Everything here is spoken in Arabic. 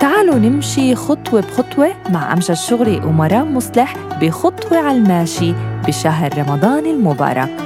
تعالوا نمشي خطوة بخطوة مع أمجد شغري ومرام مصلح بخطوة على الماشي بشهر رمضان المبارك.